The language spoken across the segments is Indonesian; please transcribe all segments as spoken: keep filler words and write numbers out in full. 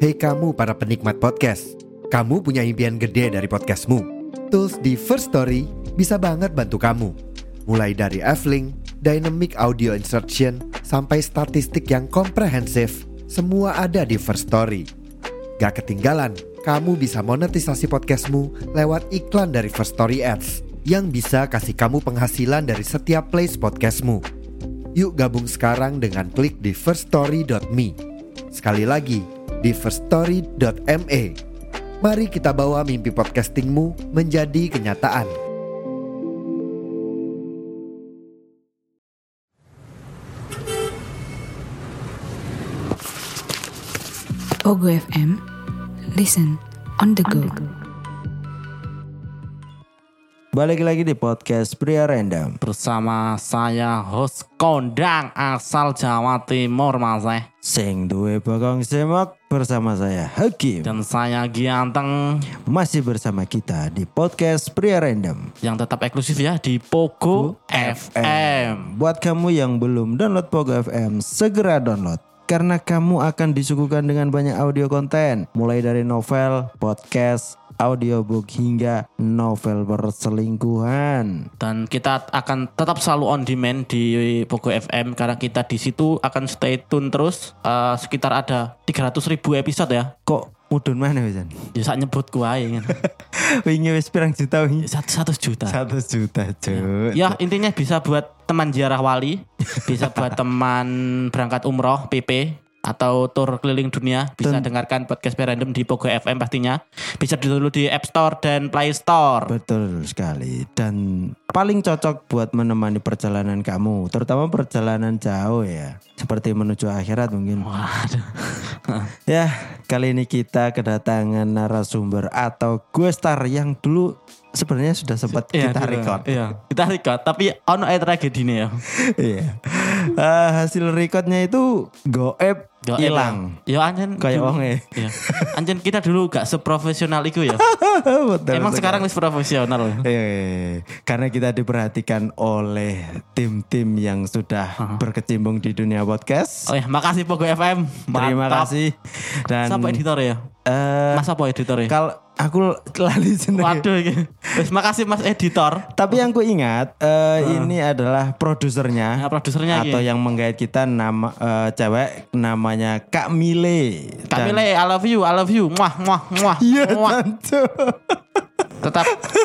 Hei kamu para penikmat podcast, kamu punya impian gede dari podcastmu. Tools di First Story bisa banget bantu kamu. Mulai dari F-Link, Dynamic Audio Insertion, sampai statistik yang komprehensif, semua ada di First Story. Gak ketinggalan, kamu bisa monetisasi podcastmu lewat iklan dari First Story Ads yang bisa kasih kamu penghasilan dari setiap plays podcastmu. Yuk gabung sekarang dengan klik di first story dot me. Sekali lagi, di first story dot me. Mari kita bawa mimpi podcastingmu menjadi kenyataan. Pogo F M, listen on the go. Balik lagi di podcast Pria Random bersama saya host kondang asal Jawa Timur Mas eh. Sing duwe bokong semak bersama saya Hakim Dan saya Gianteng. Masih bersama kita di podcast Pria Random yang tetap eksklusif ya di Pogo F M. Buat kamu yang belum download Pogo F M, segera download karena kamu akan disuguhkan dengan banyak audio konten, mulai dari novel, podcast, audiobook hingga novel perselingkuhan. Dan kita akan tetap selalu on demand di Pogo F M karena kita di situ akan stay tune terus. Uh, sekitar ada tiga ratus ribu episode ya. Kok mudun mana Wisan? Ya sak nyebut kuai kan. Wingi wis pirang juta wingi? Satu juta. Satu juta cuy. Ya intinya bisa buat teman ziarah wali, bisa buat teman berangkat umroh P P atau tur keliling dunia, bisa Dan, dengarkan podcast Random di Pogo F M pastinya. Bisa dulu di App Store dan Play Store. Betul sekali. Dan paling cocok buat menemani perjalanan kamu, terutama perjalanan jauh ya, seperti menuju akhirat mungkin. Waduh. Ya, kali ini kita kedatangan narasumber atau guest star yang dulu sebenarnya sudah sempat Iya, kita dulu. record. Iya, kita record tapi ono ae tragedine ya. Iya. Uh, hasil recordnya itu goib hilang. Ya anjen Kayak dulu- wonge. Iya. Anjen kita dulu gak seprofesional itu ya. Betul Emang sekali. sekarang wis profesional. Eh, karena kita diperhatikan oleh tim-tim yang sudah berkecimpung di dunia podcast. Oh ya, makasih Pogo F M. Terima Mantap. kasih. Dan Siapa editor ya? eh, Mas apa editor ya? kalau aku lali sendiri. Waduh iki. Wis makasih Mas editor. Tapi yang ku ingat eh, ini adalah produsernya Nah, produsernya iki. atau yang menggait kita nama eh, cewek namanya Kak Mile. Kak Dan- Mile, I love you, I love you. Muah, muah, muah. Iya muah. tentu. Tetap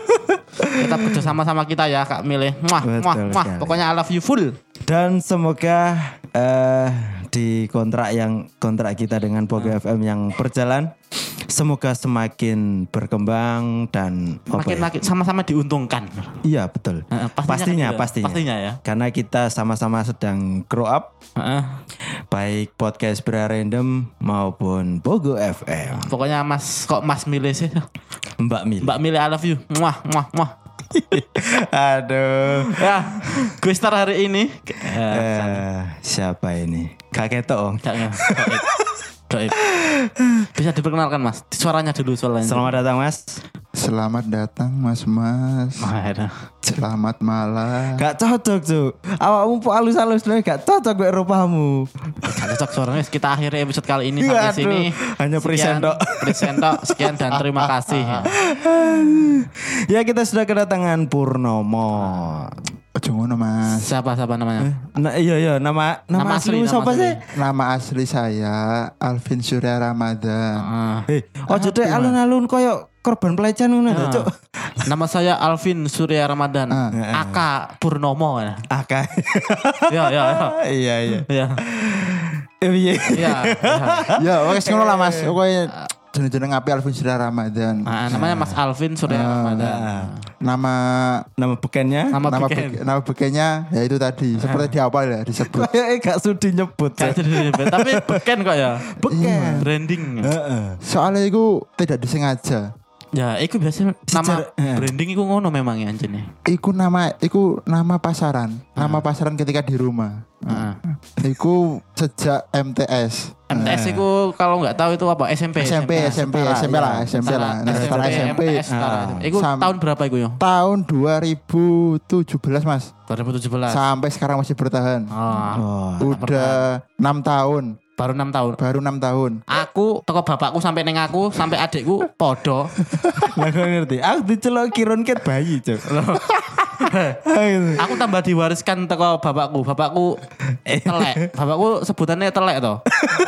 tetap kerja sama-sama kita ya Kak Mile. Muah, Betul muah, muah. sekali. Pokoknya I love you full. Dan semoga eh, di kontrak yang kontrak kita dengan Pogo F M yang berjalan, semoga semakin berkembang dan apa Makin ya? makin sama-sama diuntungkan. Iya betul. Heeh, pastinya pastinya kan pastinya. gitu. Pastinya ya. Karena kita sama-sama sedang grow up, Heeh. baik podcast Pria Random maupun Pogo F M. Pokoknya Mas kok Mas Mile sih. Mbak Mil. Mbak Mile I love you. Muah, muah, muah. Aduh. Ya, gue star hari ini. Eh, siapa ini? Kak Keto. Jangan. Doib. Doib. Bisa diperkenalkan Mas. Suaranya dulu soalnya. Selamat datang Mas. Selamat datang mas-mas. Mas. Selamat malam. Gak cocok tuh. Awakmu po halus-halus nih gak cocok gue rupamu. Gak cocok suaranya. Kita akhiri episode kali ini Iya, sampai aduh. sini. Hanya present Sekian, tok. present tok. Sekian dan terima kasih. Ya kita sudah kedatangan Purnomo. Ojo ngono mas. Siapa siapa namanya? Nah, iya iya nama nama, Nama aslimu asli, nama siapa asli. sih? Nama asli saya Alvin Surya Ramadan. Ah. Eh, ojo deh alun-alun koyo korban pelecehan ngono Ah. Cuk. Nama saya Alvin Surya Ramadan. Ah. Aka Purnomo. Ya, Aka. ya, ya. Iya iya. Ya, Eh, iya. ya. ya. Ya oke ngono lah mas. Oke jeneng-jeneng api Alvin Surya Ramadan. Nah, namanya Mas Alvin Surya Ramadan. Nama Nama bekennya Nama nama beken. beke- nama bekenya ya itu tadi seperti dihafal ya disebut. kayak gak sudi nyebut. Kayak jadi disebut. Tapi beken kok ya. Beken. Branding. Heeh. Soalnya itu tidak disengaja. Ya, itu biasanya nama Secara- eh. branding itu ngono memang ya anjene. Iku nama, iku nama pasaran, nama pasaran ketika di rumah. Heeh. Iku sejak M T S. M T S itu kalau nggak tahu itu apa? S M P. S M P, S M P, setara, S M P lah, iya. S M P lah. Nah, Setara setara S M P. M T S setara. Ah. Itu Sam- tahun berapa itu yo? Tahun dua ribu tujuh belas mas. dua ribu tujuh belas. Sampai sekarang masih bertahan. Oh. Oh. Udah enam tahun. Baru enam tahun. Baru enam tahun. Aku toko bapakku sampai neng aku sampai adikku podo. Lah kok ngerti. Aku dicelok kiron ket bayi, Cuk. Aku tambah diwariskan toko bapakku. Bapakku telek. Bapakku sebutannya telek toh.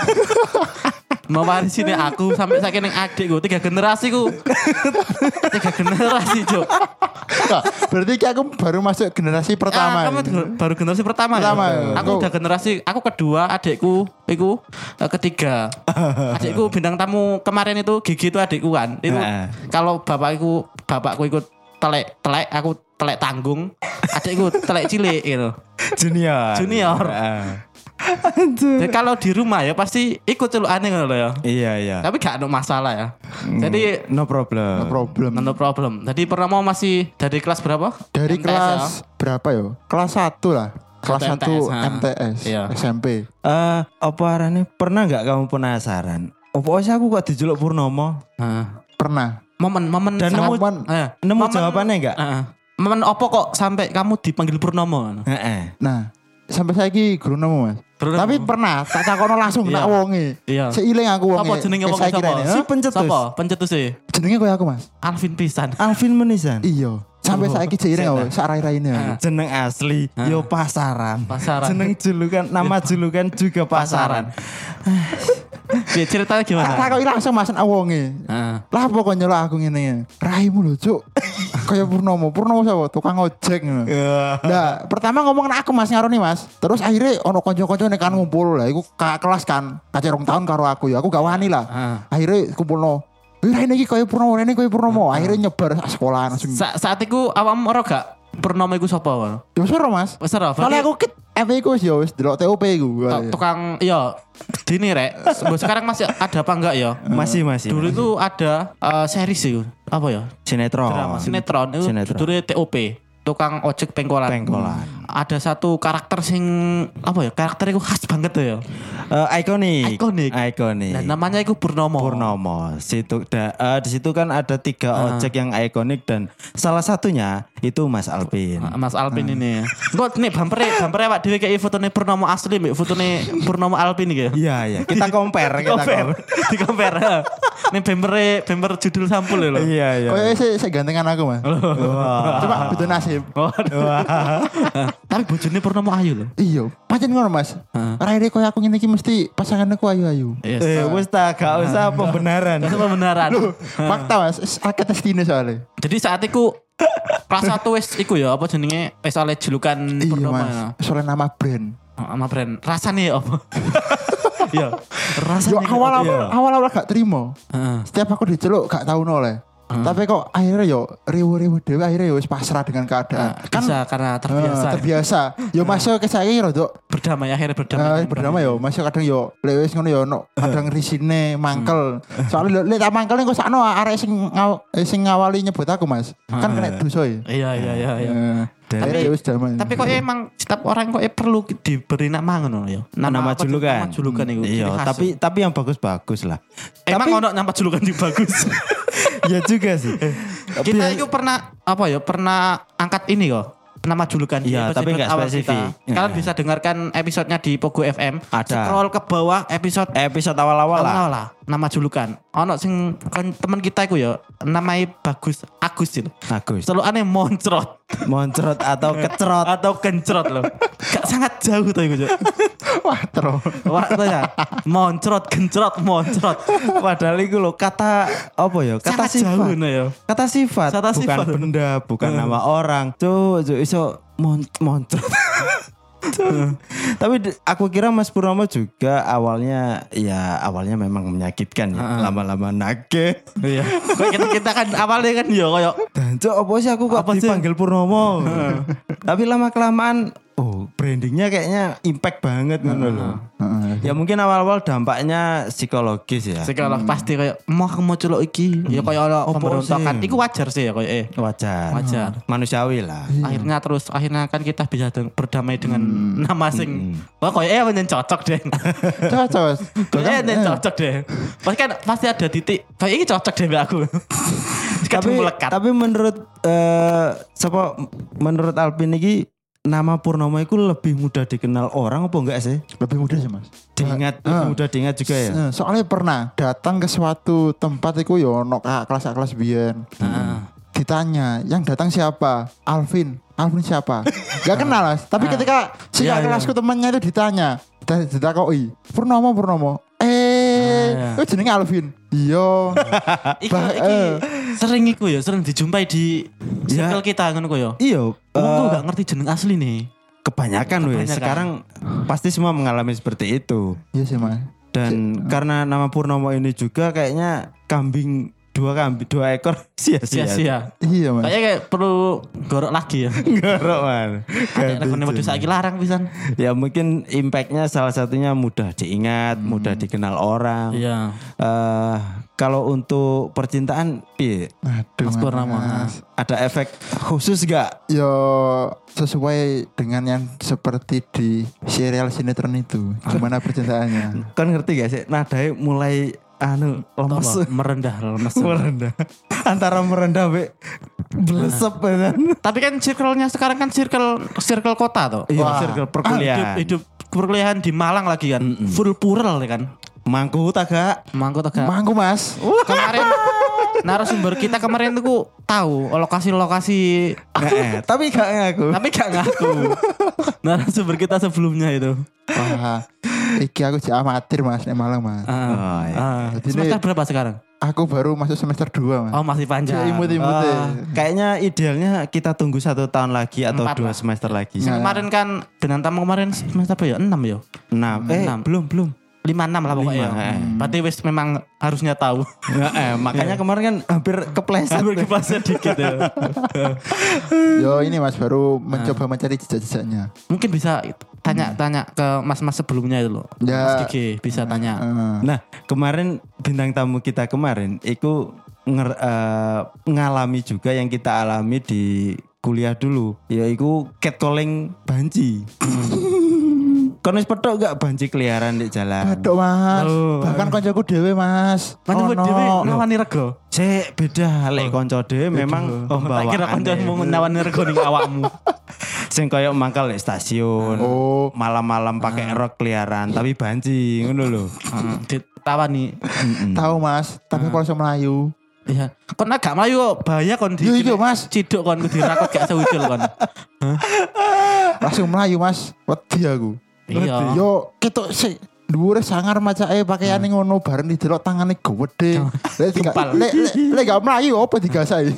Mewarisi aku sampai saking neng adikku tiga generasi ku. Tiga generasi, Cuk. Nah, berarti ki aku baru masuk generasi pertama. Ah, kamu baru generasi pertama, Pertama, ya? ya. Aku udah generasi, aku kedua, adikku, iku eh, ketiga. Adikku bintang tamu kemarin itu Gigi itu adikku kan. Itu Heeh. kalau bapakku, bapakku ikut telek, telek, aku telek tanggung. Adikku telek cilik gitu. Junior. Junior. Heeh. Jadi kalau di rumah ya pasti ikut celukane ngono lho ya. Iya, iya. Tapi gak ada masalah ya. Jadi No problem. No problem. no problem. Jadi Purnomo masih dari kelas berapa? Dari M T S kelas ya? berapa yo? Kelas satu lah. Kelas Satu satu M T S, ha. M T S, Iya. S M P. Eh, apa arane pernah nggak kamu penasaran? Apa sih aku kok dijuluk Purnomo? Heeh. Pernah. Momen-momen Dan sangat- nemu- Momen, Eh, Nemu momen- jawabannya enggak? Heeh. Momen opo kok sampai kamu dipanggil Purnomo? Heeh. nah, sampai saiki guru nemu Mas. Purnomo. Tapi pernah tak takono langsung Iya. tak wonge. Iya. Seiling aku wonge. Apa jenenge Kayak wong saiki sapa? rene, Si ha? pencetus. Sapa? Pencetus e. Jenenge koyo aku Mas. Alvin pisan. Alvin Menisan. Iya. Sampai Oh, saiki seiring Zeta. aku sak rai-raine aku. Jeneng asli yo pasaran. Pasaran. Jeneng julukan, nama julukan juga pasaran. Piye ceritanya Tak gimana? takoki langsung Mas awonge. Heeh. Lah apa kok nyelok aku ngene? Raimu lho, Cuk. Kaya Purnomo. Purnomo sapa? Tukang ojek ngono. Nah, pertama ngomong aku Mas ngaroni Mas. Terus akhirnya ono kanca-kancane kan ngumpul lah. Iku kakak kelas kan. Kacek rong tahun karo aku ya. Aku gak wani lah. Heeh. Akhirnya kumpulno. Wih, ini iki kaya Purnomo, ini kaya Purnomo. Akhirnya nyebar sak sekolah langsung. Sa saat iku awakmu ora gak Purnomo iku sapa ngono? Ya wis ora, Mas. Wis ora. Soalnya aku ket F I ku wis ya wis delok T O P ku. Tuk- tukang iya dini rek. Sekarang masih ada apa enggak ya? Masih masih. Dulu itu ada eh, series itu apa ya? sinetron. Drama sinetron itu Sinetron. judulnya T O P. Tukang ojek pengkolan. Pengkolan. Ada satu karakter sing apa ya? Karakternya itu khas banget tuh ya. Eh, ikonik. Ikonik. Ikonik. Dan namanya itu Purnomo. Purnomo. Situ da, eh, di situ kan ada tiga Ah. ojek yang ikonik dan salah satunya itu Mas Alvin. Mas Alvin ini. Kok nih bampere bampere awak dhewe kayak fotone Purnomo asli mbek fotone Purnomo Alvin iki ya. Iya iya. Kita compare, kita Compare. compare. Di compare. Nih bempere bemper judul sampul lho. Iya iya. Kaya sik sik gantengan aku, Mas. Wah. Cuma beda nasib. Tapi bojone Purnomo ayu lho. Iya, pancen ngono, Mas. Heeh. Raine koyo aku ngene iki mesti pasanganku ayu-ayu. Yes. Eh, wis ta gak usah pembenaran. Itu pembenaran. Fakta, Mas. Wis akeh testine soalnya. Jadi saat itu kelas satu wis iku ya apa jenenge wis oleh julukan Iya, Purnomo. Mas. Ya. Soalnya nama brand. Sama brand. Rasane ya apa? Iya. Yo Rasane kayak apa? awal-awal awal-awal gak terima. Heeh. Setiap aku diceluk gak tau noleh. Tapi kok akhirnya yo rewo-rewo dhewe akhirnya yo wis pasrah dengan keadaan. Kan bisa karena terbiasa. Eh, terbiasa. Yo masuk ke saya rodok Berdamai akhirnya berdamai. Eh, berdamai yo, masih kadang yo lek wis ngono yo ono kadang risine mangkel. Soalnya lek tak mangkel kok sakno arek sing ngaw, eh, sing ngawali nyebut aku, Mas. Kan kena dosa ya. Iya iya iya iya. Eh, Tapi- akhirnya wis damai. Tapi kok emang setiap orang kok perlu diberi nama ngono ya. Nama apa, julukan. Nama julukan itu. Iya, ciri khas. tapi tapi yang bagus-bagus lah. emang tapi- ono nama julukan yang bagus. Ya juga sih. Kita itu pernah apa ya? Pernah angkat ini kok. Nama julukan di Iya, episode tapi nggak awal spesifik. kita. Kalian Iya. bisa dengarkan episodenya di Pogo F M. Ada. Scroll ke bawah episode Episode awal-awal lah. awal lah. Nama julukan. Ono sing kan teman kita iku ya namanya Bagus Agus itu. Bagus. Selalu aneh moncrot Moncrot atau kecerot. atau kencrot loh. Gak sangat jauh tuh iku. Cuk. Wah, terus. Waktu ya. Moncrot, gencrot, moncrot. Padahal itu loh kata apa ya? Kata Sangat jauh sifat. nah ya. Kata sifat, Kata bukan sifat. benda, bukan nama orang. Cuk, cuk iso mon moncrot. Cuk. Tapi d- aku kira Mas Purnomo juga awalnya ya awalnya memang menyakitkan ya. Lama-lama nage. Iya. Kayak kita, kita kan awalnya kan ya kayak Dan cuk apa sih aku kok Apa sih? dipanggil Purnomo? Tapi lama kelamaan oh brandingnya kayaknya impact banget ngono loh. Heeh. Ya mungkin awal-awal dampaknya psikologis ya. psikolog pasti kayak mau aku mau celok iki. Ya kayak ono Apa pemberontakan. sih? Iku wajar sih ya kayak eh. Wajar. Wajar. Manusiawi lah. Akhirnya terus akhirnya kan kita bisa deng- berdamai dengan nama sing wah kayak eh yang cocok deh. Cocok, Mas. Kayak yang cocok deh. Pasti kan pasti ada titik. Kayak ini cocok deh mbak aku. tapi Kadang melekat. tapi menurut eh siapa menurut Alvin ini nama Purnomo itu lebih mudah dikenal orang apa enggak sih? Lebih mudah sih mas. Diingat, Ah. lebih mudah diingat juga ya. Eh, Soalnya pernah datang ke suatu tempat itu yo ono kelas-kelas biyen. Heeh. Ditanya, yang datang siapa? Alvin. Alvin siapa? Gak kenal mas. Tapi ketika si Iya, kakak iya. kelasku temannya itu ditanya, kita ditakoi, Purnomo Purnomo. Eh, iya. itu jenenge Alvin. Iya. Iku, Bah- iki eh. sering iku ya, sering dijumpai di Ya. circle kita ngono ku ya. Iya, Wong tuh eh, gak ngerti jeneng asli nih. kebanyakan weh. Kebanyakan. Sekarang pasti semua mengalami seperti itu. Iya sih mas. Dan karena nama Purnomo ini juga kayaknya kambing dua kambing dua ekor sia-sia. Sia-sia. Iya mas. Kayaknya kayak perlu gorok lagi ya. Gorok man. Ada rekone modus saiki larang pisan. Ya mungkin impactnya salah satunya mudah diingat, mudah dikenal orang. Iya. Eh, kalau untuk percintaan, piye? Aduh Mas Purnomo. mas. Ada efek khusus gak? Yo sesuai dengan yang seperti di serial sinetron itu. Gimana percintaannya? Kan ngerti gak sih? Nadanya mulai anu lemes. Apa? Merendah, lemes. Merendah. Antara merendah be blesep kan. Tapi kan circle-nya sekarang kan circle circle kota tuh. Iya, Wah. circle Hidup, perkuliahan. hidup perkuliahan di Malang lagi kan. Full plural ya kan. Mangku tak gak? Mangkut agak. Mangku mas. Kemarin narasumber kita kemarin tuh tahu lokasi-lokasi Nggak, eh, tapi gak ngaku. tapi gak ngaku. Narasumber kita sebelumnya itu. Wah, iki aku jadi amatir mas, di Malang mas. Ah, Oh, iya. ah. Jadi Semester ini- berapa sekarang? Aku baru masuk semester dua mas. Oh masih panjang. Jadi imut-imut Ah, ya. kayaknya idealnya kita tunggu satu tahun lagi atau Empat dua lah. semester lagi. Yang kemarin kan dengan tamu kemarin semester apa ya? enam ya? Enam. Eh, Enam. belum belum. lima enam lah pokoknya. Lima, eh. Berarti wis memang harusnya tahu. Nggak, eh, makanya kemarin kan hampir kepleset. Hampir kepleset dikit ya. Yo ini mas baru mencoba mencari jejak-jejaknya. Mungkin bisa tanya-tanya ke mas-mas sebelumnya itu loh. Ya. Mas Gigi bisa tanya. Eh, Nah, kemarin bintang tamu kita kemarin itu nger- eh, ngalami juga yang kita alami di kuliah dulu, yaitu catcalling banci. Kon wis petok gak banci keliaran di jalan? Aduh mas, Oh. bahkan koncoku dewe mas. Mana buat Ono. dhewe ngawani rego. Cek beda lek konco dhewe memang Tak kira pembawaan. kancamu ngawani rego ning awakmu. Sing koyo mangkal di stasiun. Oh. Malam-malam pakai rok keliaran tapi banci ngono lho. Heeh, ditawani. Tahu mas, tapi kalau saya Melayu. Iya. Kon agak mlayu kok bahaya kon di. Yo iya mas, Ciduk kon kudu dirakot gak sewucul kon. langsung Melayu mas. Wedi aku. Iya. Yo ketok sih. Dhuwure sangar macake pakaiane ngono bareng didelok tangane gede. Lek tiga- Gempal. lek lek lek gak Melayu apa digasai.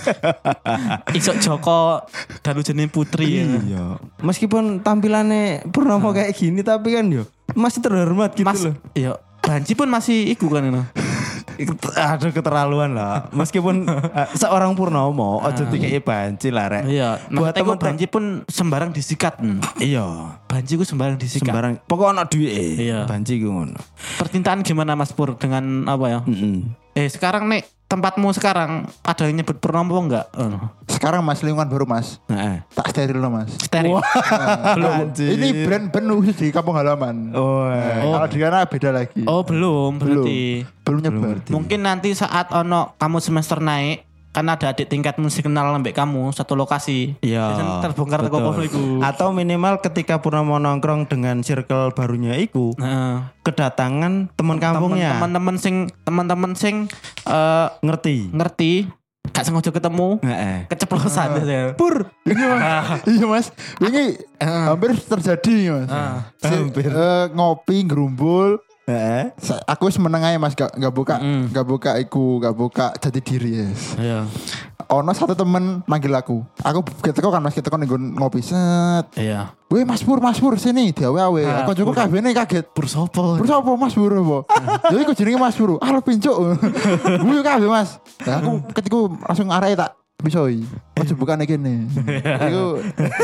Isok Joko dan jeneng Putri. ya. Iya. Meskipun tampilannya Purnomo kayak gini tapi kan yo masih terhormat gitu Mas, loh. iya. Banci pun masih iku kan itu. Aduh keterlaluan lah. Meskipun eh, seorang Purnomo ojo dikei banci lah rek. Iya. Buat Maksudnya iku temen- banci pun sembarang disikat. Hmm. Iya. Banci ku sembarang disikat. Sembarang pokok ana duwike. Iya. Banci ku ngono. Percintaan gimana Mas Pur dengan apa ya? Heeh. Eh sekarang nih tempatmu sekarang ada yang nyebut Purnomo enggak? Oh. Sekarang mas lingkungan baru mas. Heeh. Tak steril loh mas. Steril. Belum. Ini brand brand khusus di kampung halaman. Oh. Eh, Kalau di sana beda lagi. Oh belum berarti. Belum nyebar. Mungkin nanti saat ono kamu semester naik kan ada adik tingkatmu sih kenal lembek kamu satu lokasi. Iya. Biasanya terbongkar teko betul. kono iku. Atau minimal ketika Purnomo nongkrong dengan circle barunya iku Heeh. kedatangan teman kampungnya Teman-teman sing teman-teman sing eh, ngerti. ngerti gak sengaja ketemu Heeh. keceplosan ya. Pur. Iya mas, ini hampir terjadi mas. Si- Hampir. eh, ngopi gerumbul. Heeh. Sa- Aku semeneng aja mas, gak, gak buka, Mm. gak buka iku, gak buka jati diri ya. Iya. Ono satu temen manggil aku, aku kita kan mas kita kan ngopi set. Iya. Weh mas Pur, mas Pur sini, diawe awe. Ah, Aku cukup kabeh kaget. Pur sopo? Pur apa mas Pur apa? Jadi aku jenenge mas Pur. Ah lo pincuk. Gue kabeh mas. Nah, aku ketika langsung arah tak bisoi. Ojo bukan iki nih. Iku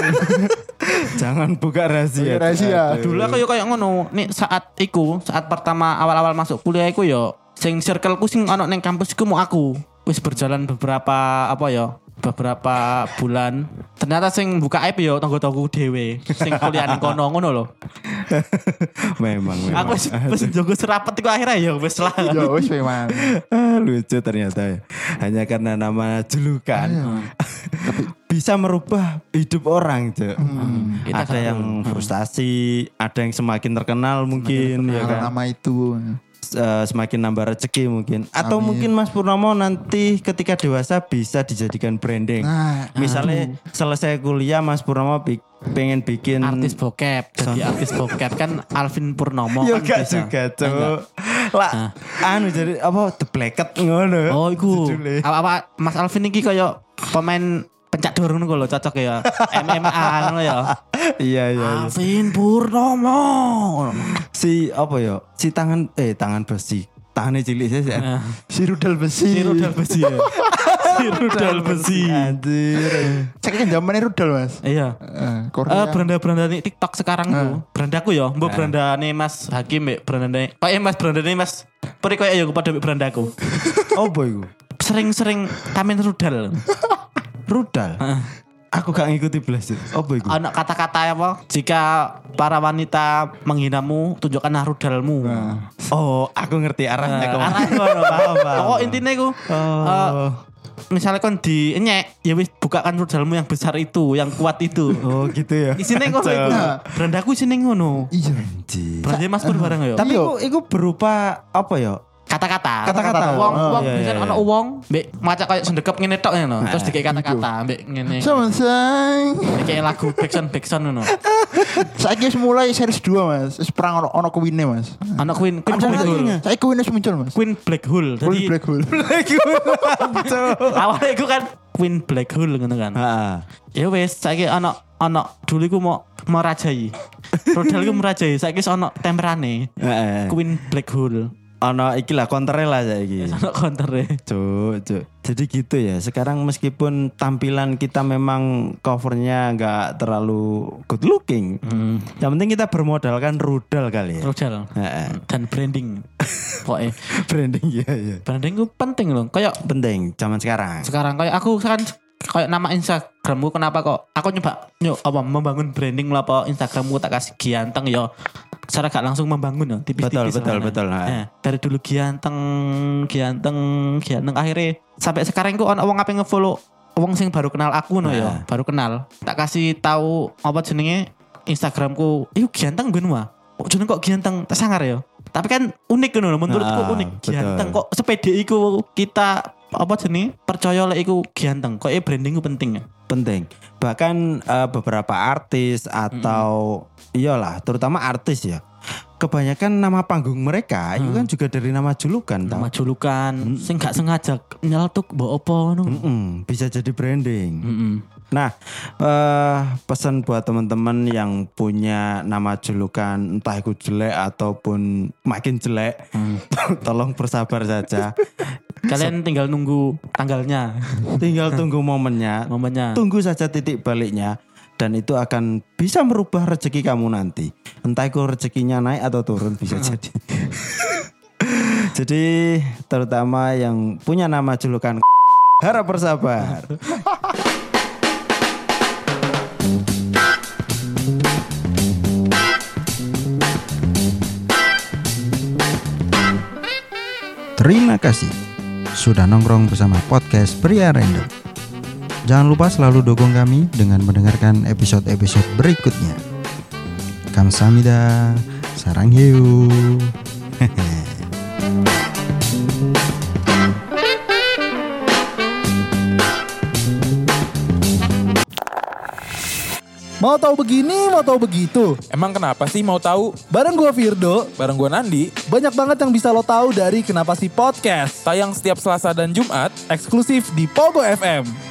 Jangan buka rahasia. rahasia. Dulu aku yo kayak ngono. Nih saat iku, saat pertama awal-awal masuk kuliah iku yo sing circleku sing ono ning kampus iku mau aku. Wis berjalan beberapa apa ya? Beberapa bulan. Ternyata sing buka aib yo tangga-tanggaku dhewe. Sing kuliah ning kono ngono lho. Memang, memang. Aku wis wis njogo serapet iku akhirnya ya wis lah. Yo wis memang. Ah, lucu ternyata ya. Hanya karena nama julukan. Tapi bisa merubah hidup orang, Cuk. Hmm. Kita Ada gak yang frustasi, ada yang semakin terkenal mungkin, ya Karena kan? nama itu. Eh, semakin nambah rezeki mungkin. Atau Amin. mungkin Mas Purnomo nanti ketika dewasa bisa dijadikan branding. Nah, Misalnya selesai kuliah Mas Purnomo bi- pengen bikin artis bokep. Jadi artis bokep kan Alvin Purnomo Yo kan gak bisa. juga, Enggak. Cuk. Lah, anu jadi apa The Blacket ngono. Oh iku. Judulnya. Apa-apa Mas Alvin iki kayak pemain pencak dor ngono lho cocok ya. M M A ngono ya. Iya iya. iya. Alvin Purnomo. Si apa ya? Si tangan eh tangan besi. Tangannya cilik sih. sih. si rudal besi. Si rudal besi ya. Si rudal besi. Anjir. Saya kan zamannya rudal, Mas. Iya. Eh, Eh Korea. beranda-beranda nih TikTok sekarang tuh. Berandaku ya, mbok beranda nih Mas Hakim mbek beranda nih. Kayak Mas beranda nih Mas. Peri kayak ya pada mbek berandaku. Oh boy. Sering-sering tamen rudal. Rudal. Aku gak ngikuti belas itu. Apa itu? Anak kata-kata apa? Jika para wanita menghinamu, tunjukkanlah rudalmu. Oh, aku ngerti arahnya kok. Arah ngono, paham, paham. Pokok intine ku Oh. misalnya kon dienyek, ya wis bukakan rudalmu yang besar itu, yang kuat itu. Oh, gitu ya. Isine ngono iku. Berandaku isine ngono. Iya. Anjir. Berarti Mas Pur bareng ya. Tapi Iya. itu itu berupa apa ya? Kata-kata. Kata-kata. Wong Oh, wong iya, misalnya iya, ana iya. wong mbek maca kayak sendekep ngene tok ngono. Terus dikek kata-kata mbek ngene. Sama say. Dikek lagu backsound backsound ngono. Saya mulai series dua, Mas. Wis perang ono ono kuwine, Mas. Ana Queen Queen Ada Black Hole. lagunya. Saya kuwine wis muncul, Mas. Queen Black Hole. Queen Jadi Black Hole. awalnya iku kan Queen Black Hole ngono kan. Heeh. Ya wes saiki ana ana dulu iku mau merajai. Rudal iku merajai, saiki wis ana temperane. Heeh. Queen Black Hole. Ono iki lah counter lah saiki. Ana counter-e. Cuk, cuk. Jadi gitu ya. Sekarang meskipun tampilan kita memang covernya nggak terlalu good looking, Hmm. yang penting kita bermodalkan rudal kali ya. Rudal Heeh. dan branding. Pokoknya Branding ya ya. branding itu penting loh. Kayak Penting zaman sekarang. sekarang kayak aku kan kayak nama Instagramku kenapa kok aku nyoba nyok apa membangun branding lah apa Instagramku tak kasih ganteng ya. Secara gak langsung membangun ya, tipis-tipis. Betul, betul, mana. betul, ha. Nah, dari dulu ganteng, ganteng, ganteng akhirnya sampai sekarang ku ono wong ape ngefollow wong sing baru kenal aku no ya, Nah. baru kenal. Tak kasih tahu apa jenenge Instagramku, "Iku ganteng ben wah." Kok jeneng kok ganteng, tak sangar ya. Tapi kan unik ngono, menurutku Ah, unik. betul. Ganteng kok sepede iku kita apa jenenge percaya lek iku ganteng. Kok branding ku penting ya. Penting. Bahkan eh, beberapa artis atau iyalah, terutama artis ya. Kebanyakan nama panggung mereka itu kan juga dari nama julukan. tau. Nama julukan sing gak sengaja nyeletuk mbok apa ngono. Mm-mm, bisa jadi branding. Mm-mm. Nah, eh, pesan buat teman-teman yang punya nama julukan entah itu jelek ataupun makin jelek, tolong bersabar saja. Kalian tinggal nunggu tanggalnya, Tinggal tunggu momennya, momennya. tunggu saja titik baliknya, dan itu akan bisa merubah rezeki kamu nanti. Entah itu rezekinya naik atau turun bisa jadi. Jadi terutama yang punya nama julukan harap bersabar. Terima kasih sudah nongkrong bersama podcast Pria Random. Jangan lupa selalu dukung kami dengan mendengarkan episode-episode berikutnya. Kamsahamnida, saranghaeyo. Mau tahu begini, mau tahu begitu. Emang kenapa sih mau tahu? Bareng gua Firdo, Bareng gue Nandi, banyak banget yang bisa lo tahu dari Kenapa Sih Podcast. tayang setiap Selasa dan Jumat. Eksklusif di Pogo F M.